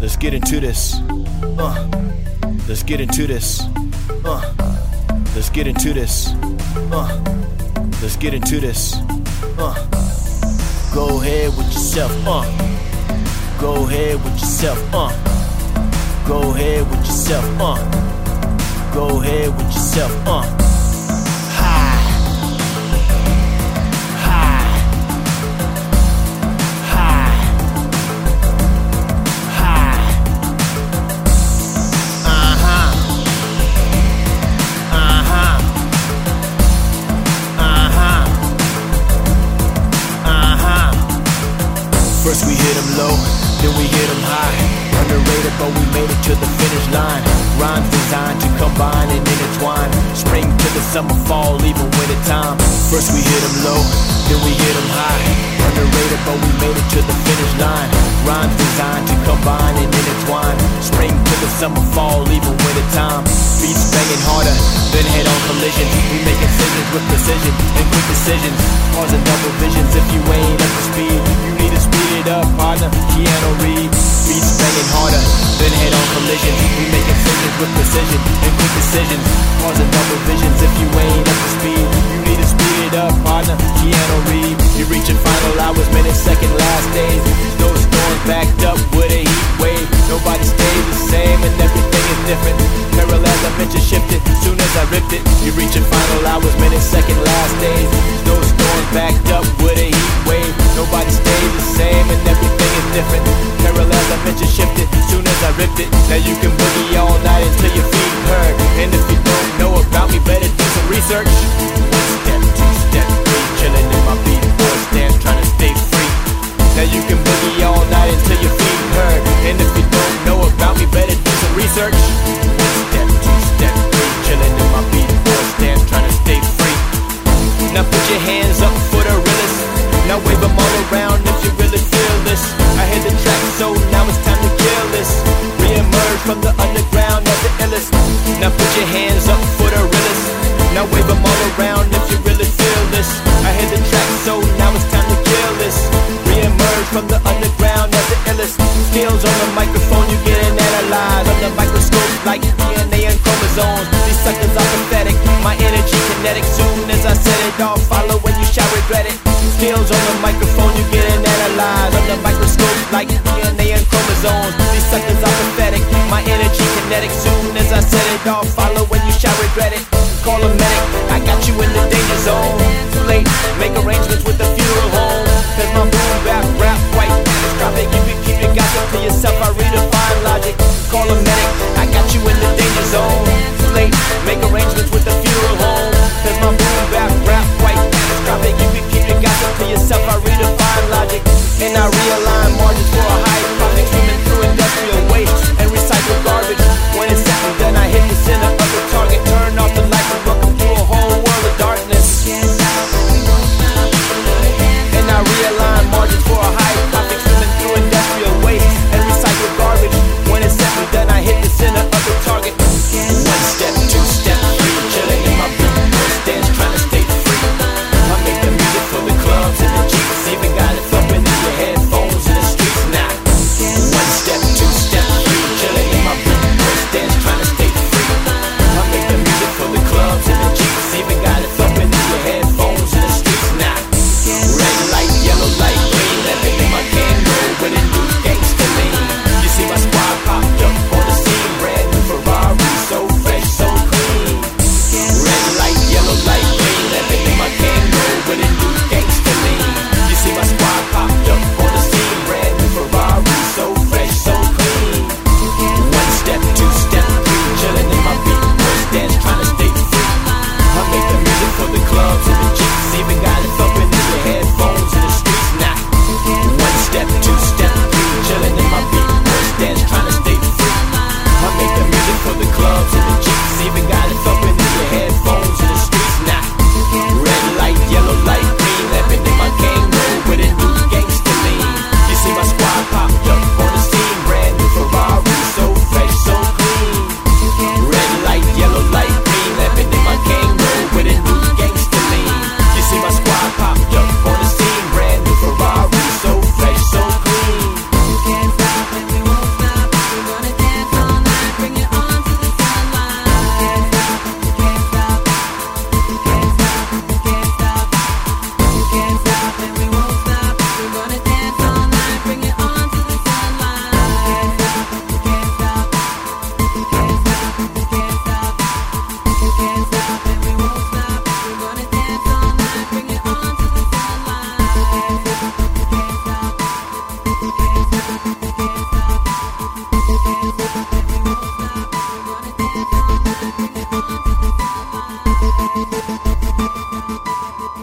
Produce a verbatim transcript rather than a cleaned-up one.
Let's get into this. Uh, let's get into this. Uh, let's get into this. Uh, let's get into this. Uh, go ahead with yourself. Uh, go ahead with yourself. Uh, go ahead with yourself. Uh, go ahead with yourself. Uh. First we hit them low, then we hit them high. Underrated, but we made it to the finish line. Rhymes designed to combine and intertwine. Spring to the summer, fall, even winter time. First we hit them low, then we hit them high. Underrated, but we made it to the finish line. Rhymes designed to combine and intertwine. Spring to the summer, fall, even winter time. Beats banging harder than head-on collisions. We make incisions with precision and quick decisions. Causing double visions if you ain't up to speed. You need to speed it up, partner, Keanu Reeves. Beats banging harder than head-on collisions. We make incisions with precision and quick decisions. Causing double visions if you ain't up to speed. You need to speed it up, partner, Keanu Reeves. You're reaching final hours, minutes, second, last days. Those storms backed up with a heat wave. Nobody stays the same and everything is different. Parallel dimension shifted soon as I ripped it. You're reaching final hours, minutes, second, last days. Those storms backed up with a heat wave. Nobody stays the same and everything is different. Parallel dimension shifted soon as I ripped it. Now you can boogie all night until your feet hurt. And if you don't know about me, better do some research. One step, two step, three, chilling in my beat, four stance, trying to stay free. Now you can boogie all night until your feet hurt. And if you don't know about me, better do some research. One step, two step, three, chilling in my beat, four stance, trying to stay free. Now put your hands up for the realest. Now wave them all around if you really feel this. I hit the track, so now it's time to kill this. Re-emerge from the underground as the illest. Now put your hands up for the realest. Now wave them all around if you really feel this. I hit the track, so now it's time to kill this. Re-emerge from the underground as the illest. Skills on the microphone, you getting analyzed on the microscope like D N A and chromosomes. These suckers are pathetic, my energy kinetic. Soon as I set it off, follow when you shall regret it. Skills on the microphone, you getting analyzed on the microscope like D N A and chromosomes. These suckers are pathetic, my energy kinetic. Soon as I set it off, follow when you shall regret it. Call a medic, I got you in the danger zone. Too late, make arrangements with the funeral home. Cause my boom bap rap quite catastrophic. You can keep your gossip to yourself, I redefine logic. Call a medic, I got you in the danger zone. Too late, make arrangements with the